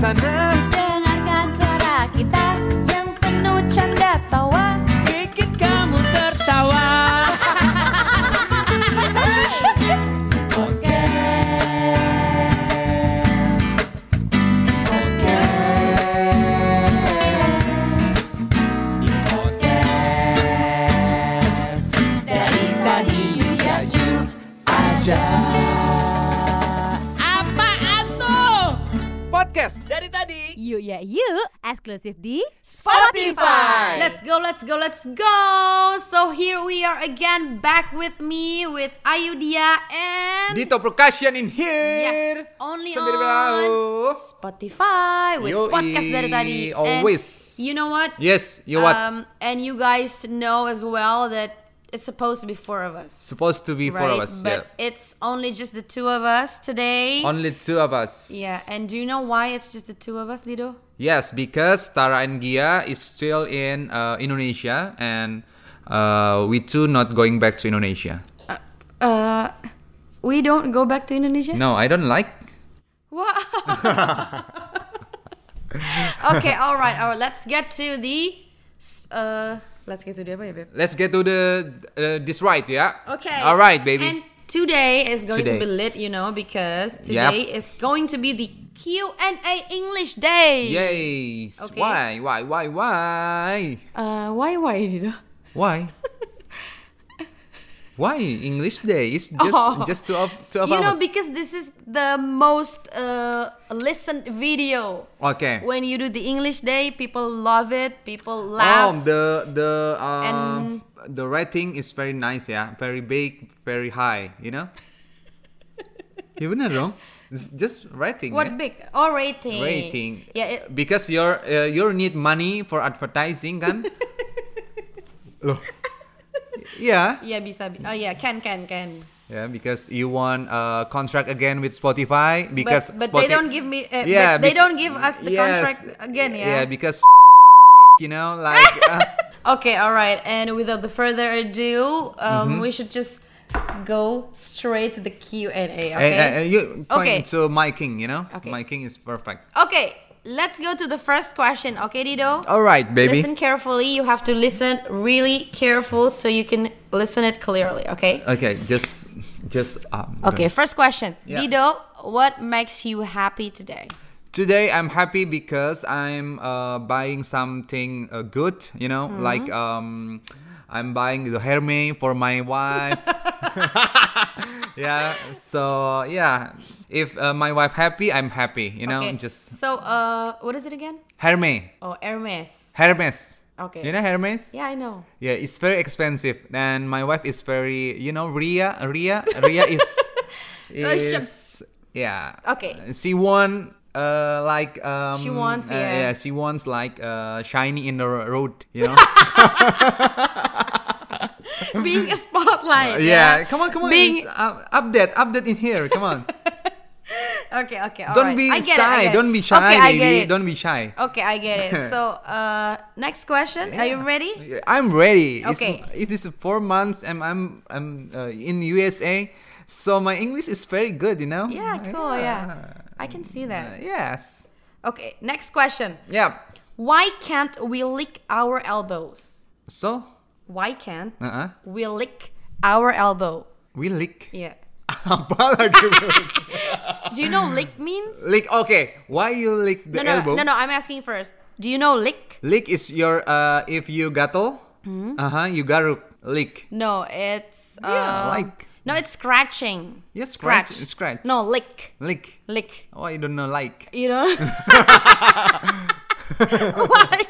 sana. Dengarkan suara kita yang penuh canda tawa, Bikin kamu tertawa. dari tadi ya you aja. Apaan tuh? Podcast dari tadi. You ya you eksklusif di Spotify. Let's go. So here we are again, back with me, with Ayudia and Dito Percussion in here. Yes, only Sambil on berlalu. Spotify with Yoi, podcast dari tadi. always. And you know what? Yes, you what? And you guys know as well that it's supposed to be four of us. Supposed to be Right? four of us. But it's only just the two of us today. Only two of us. Yeah, and do you know why it's just the two of us, Lido? Yes, because Tara and Gia is still in Indonesia, and we two not going back to Indonesia. We don't go back to Indonesia? No, I don't like. What? Okay, all right. Let's get to the apa ya, babe? Let's get to the this right, yeah. Okay. All right, baby. And today is going to Today. be lit, because today is going to be the Q&A English day. Yes. Okay. Why? Why, Lido? Why? Why English Day? It's just two of You know, us. because this is the most listened video. Okay. When you do the English Day, people love it. People laugh. And- The rating is very nice, yeah. Very big, very high, you know? Ya benar dong. It's just rating. What yeah? big? Oh, rating. Rating. Yeah. Because you need money for advertising kan? Loh. Yeah. Yeah, bisa. Oh yeah, can. Yeah, because you want a contract again with Spotify because But they don't give me. Yeah, but they don't give us the yes. contract again. Yeah. Yeah, because Spotify is shit, you know, like. Okay, all right. And without the further ado, we should just go straight to the Q&A. Okay. You Okay. point to my king, you know. Okay. My king is perfect. Okay. Let's go to the first question. Okay, Dido. All right, baby. Listen carefully. You have to listen really careful so you can listen it clearly. Okay. Okay, just. Okay. First question. Yeah. Dido, what makes you happy today? Today I'm happy because I'm buying something good, you know, like I'm buying the Hermes for my wife. Yeah, so yeah, if my wife happy, I'm happy, you know, Okay. just So, what is it again? Hermes. Oh, Hermes. Okay. You know Hermes? Yeah, I know. Yeah, it's very expensive, and my wife is very, you know, Ria is yeah. Okay. She won like She wants, yeah. she wants like shiny in the road, you know. Being a spotlight. Yeah, come on. Being- It's, update in here. Come on. Okay. All Don't right. be I get shy. it. Don't be shy, Okay, I baby. get it. Don't be shy. Okay, I get it. So, next question. Are you ready? I'm ready. Okay. It is 4 months and I'm in USA, so my English is very good, you know. Yeah, cool. Yeah, I can see that. Yes. Okay, next question. Yeah. Why can't we lick our elbows? So, Why can't Uh-uh. we lick our elbow? we lick. Yeah. Apa lagi? Do you know lick means? Lick. Okay. Why you lick the elbow? No. I'm asking first. Do you know lick? Lick is your if you gatal. You garuk. Lick. No, it's Yeah, like. No, it's scratching. Yes, scratch. Scratch. No, lick. Lick. Lick. Oh, I don't know. Like. You know? Like.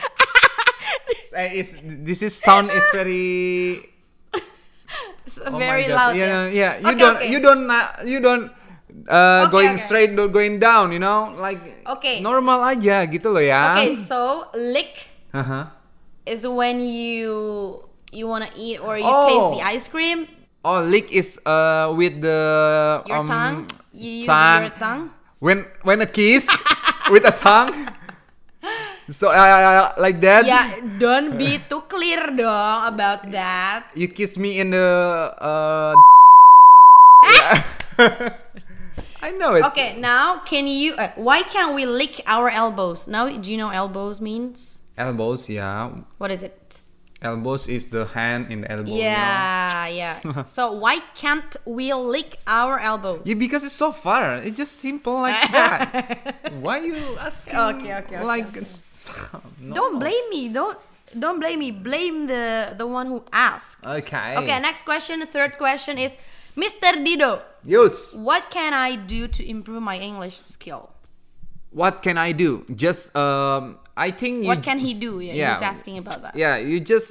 This is sound is very. It's Oh my very God. loud. Yeah. Okay. You don't going okay. straight, not going down. You know, like. Okay. Normal aja gitu loh ya. Okay, so lick Uh-huh. is when you wanna eat or you Oh. taste the ice cream. Oh, lick is with the Your tongue. You use tongue. your tongue. When a kiss with a tongue. So like that. Yeah, don't be too clear dong about that. You kiss me in the. Yeah. I know it. Okay, now can you? Why can't we lick our elbows? Now, do you know elbows means? Elbows, yeah. What is it? Elbows is the hand in the elbow. Yeah. So why can't we lick our elbows? Yeah, because it's so far. It's just simple like that. Why you asking? Okay. Like, it's, no. Don't blame me. Don't blame me. Blame the one who asked. Okay. Okay. Next question. The third question is, Mr. Dido, Yes. what can I do to improve my English skill? What can I do? Just I think you. What can he do? Yeah. He's asking about that. Yeah, you just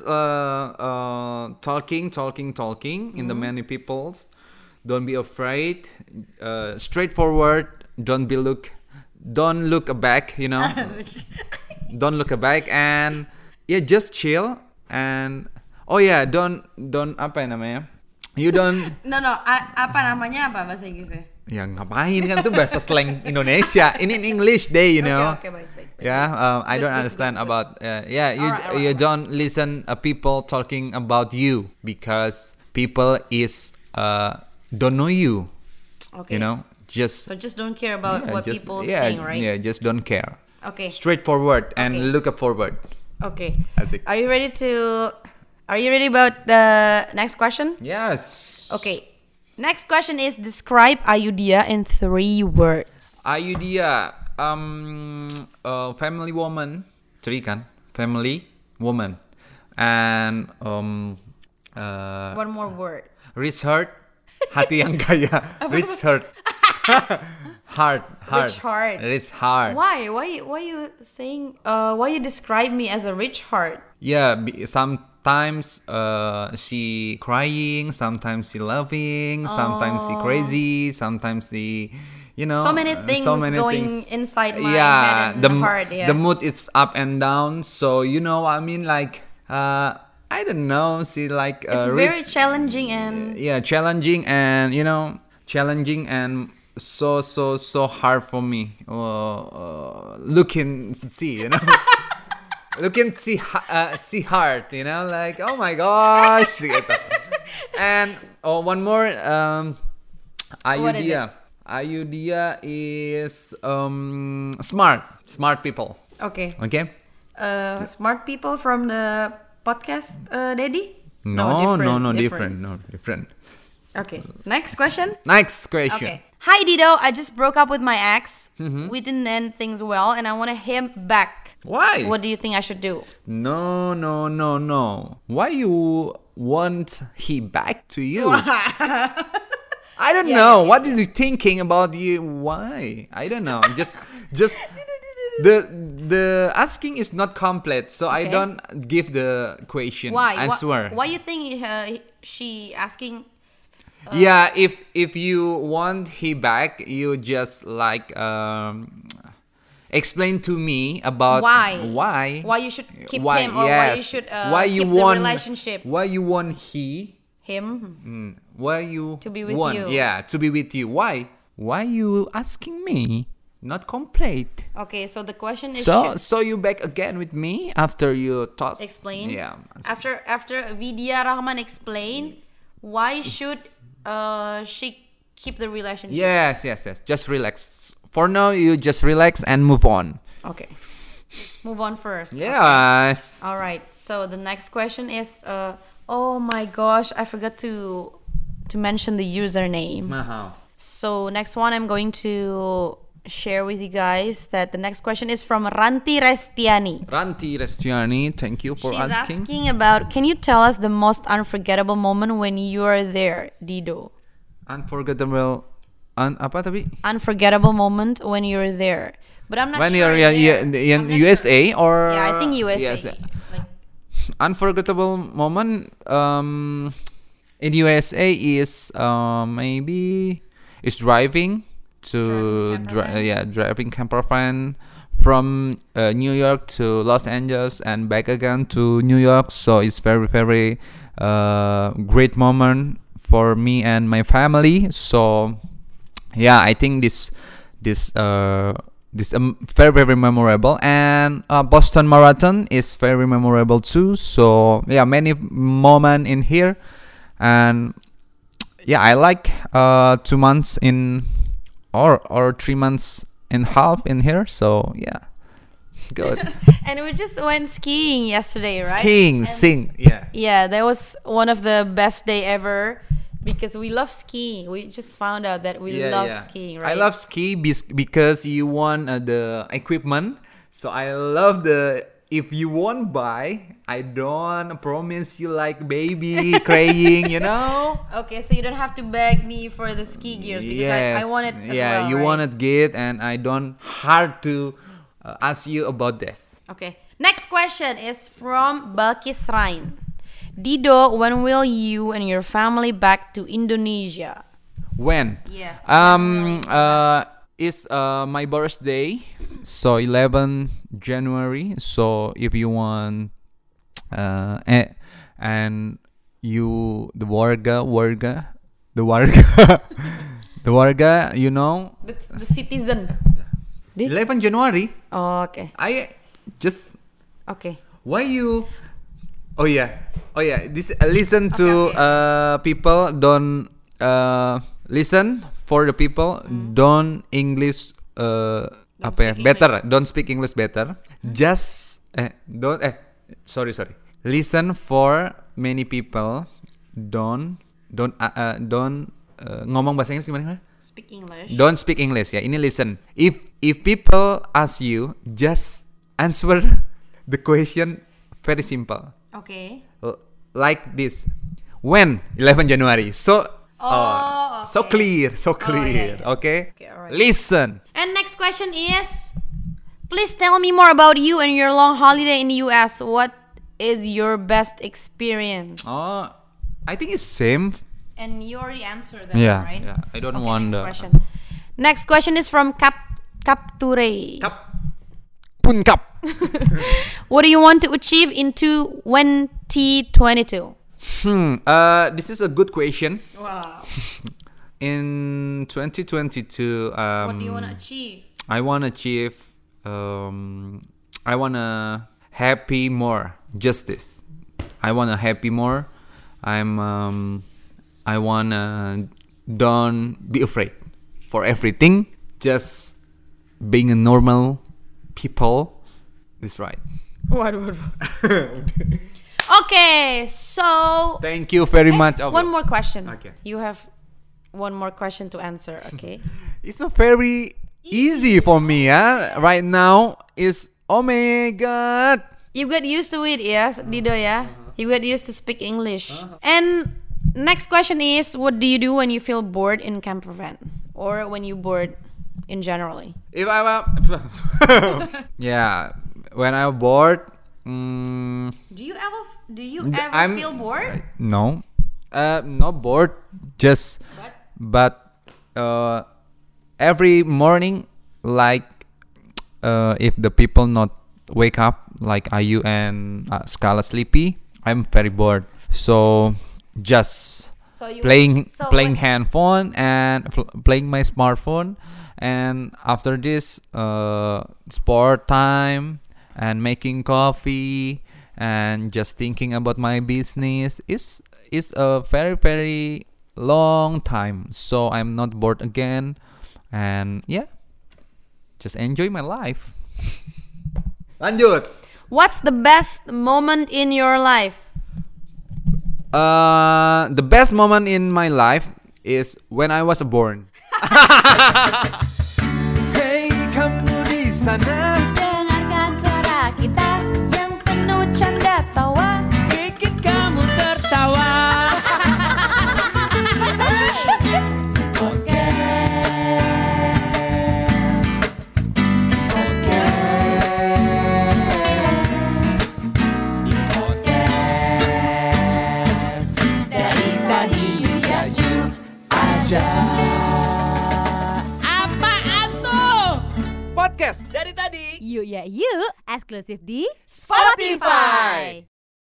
talking in the many peoples. Don't be afraid. Straightforward. Don't look back. You know. Don't look back and yeah, just chill and don't apa ya namanya? You don't. No. Apa namanya apa bahasa Inggrisnya? Ya ngapain kan itu bahasa slang Indonesia. Ini in English day, you know. Okay, baik. Yeah, I don't understand about. You don't listen people talking about you because people is don't know you. Okay. You know, just don't care about what people saying, right? Yeah, just don't care. Okay. Straightforward and Okay. look forward. Okay. Asik. Are you ready about the next question? Yes. Okay. Next question is, describe Ayudhya in 3 words. Ayudhya, family woman, 3 kan? Family woman, and One more word. rich heart, hati yang kaya, rich heart, heart, rich heart. Why you saying? Why you describe me as a rich heart? Yeah, sometimes she crying, sometimes she laughing, sometimes she crazy, sometimes she, you know, So many things going inside my head and the heart. Yeah. the mood is up and down. So you know, I mean, like I don't know, she like it's very challenging and challenging and you know, challenging and so hard for me. Look and see, you know. Look and see hard, you know, like oh my gosh. And one more, Ayudhya. Ayudhya is smart people. Okay. Okay. Smart people from the podcast, Daddy? No, different. Okay. Next question. Next question. Okay. Hi Dido, I just broke up with my ex. We didn't end things well, and I want him back. Why? What do you think I should do? No. Why you want he back to you? I don't know. What are you thinking about you? Why? I don't know. Just the asking is not complete, so I don't give the question answer. Why you think she asking? Yeah, if you want he back, you just like explain to me about why you should keep him, or why you should keep the relationship. Why you want him? Why you to be with want, you? Yeah, to be with you. Why you asking me? Not complete. Okay, so the question is, so you back again with me after you thought explain. Yeah. After Vidya Rahman explain, why should she keep the relationship? Yes. Just relax. For now, you just relax and move on. Okay. Move on first. Yes. Okay. All right. So the next question is, oh my gosh, I forgot to mention the username. So next one, I'm going to share with you guys that the next question is from Ranti Restiani. Thank you for asking. She's asking about, can you tell us the most unforgettable moment when you are there, Dido? Unforgettable moment when you're there. But I'm not when sure. When you're in USA sure. Or... Yeah, I think USA. Like, unforgettable moment in USA is maybe is driving driving camper van from New York to Los Angeles and back again to New York. So it's very great moment for me and my family. So yeah, I think this very memorable. And Boston Marathon is very memorable too. So yeah, many moments in here. And yeah, I like 2 months in or 3 months and a half in here. So yeah, good. And we just went skiing yesterday, right? Skiing, yeah. Yeah, that was one of the best day ever because we love skiing. We just found out that we love skiing, right? I love ski because you want the equipment. So I love if you won't buy, I don't promise you like baby crying, you know? Okay, so you don't have to beg me for the ski gears because I want it as well. Yeah, you right? want it good, and I don't hard to ask you about this. Okay. Next question is from Balkis Rain. Dido, when will you and your family back to Indonesia? When? Yes. It's my birthday, so 11 January. So if you want, and you the warga, the warga, you know, The citizen. 11 January. Oh, okay. I just Okay. why you? Oh yeah. This listen to Okay. people. Don't listen for the people. Don't English. speak Better. Don't speak English better. Just don't. Sorry. Listen for many people. Don't ngomong bahasa Inggris gimana? Speak English. Don't speak English ya. Ini listen. If people ask you, just answer the question very simple. Okay. Like this. When? 11 January. So so okay. clear. Yeah. Okay? Okay, alright. Listen. And next question is, please tell me more about you and your long holiday in the US. What is your best experience? I think it's same. And you already answered that, Yeah. right? Yeah. I don't Okay, want next the question. Next question is from Capture. Pun kap. What do you want to achieve in 2022? This is a good question. Wow. In 2022, What do you want to achieve? I want to achieve. I want to happy more. Justice. I want to happy more. I want to don't be afraid for everything. Just being a normal people is right. What? Okay, so Thank you very much. one more question. Okay. You have one more question to answer. Okay. It's a very easy for me. Right now is oh my god. You get used to it, yes, Dido, yeah. You get used to speak English. And next question is, what do you do when you feel bored in camper van, or when you bored in generally? If I yeah, when I'm bored. Do you ever I'm- feel bored? No, not bored. Just but every morning, like if the people not wake up, like Ayu and Scala sleepy, I'm very bored. So just So you playing when- handphone and playing my smartphone, and after this sport time and making coffee and just thinking about my business is a very very long time. So I'm not bored again, and yeah, just enjoy my life. Lanjut. What's the best moment in your life? The best moment in my life is when I was born. Hey, kamu di sana. Dengarkan suara kita yang penuh canda tawa. Bikin kamu tertawa. Dari tadi ya you aja. Apaan tuh? Podcast. Dari tadi. Yuk ya yuk, eksklusif di Spotify.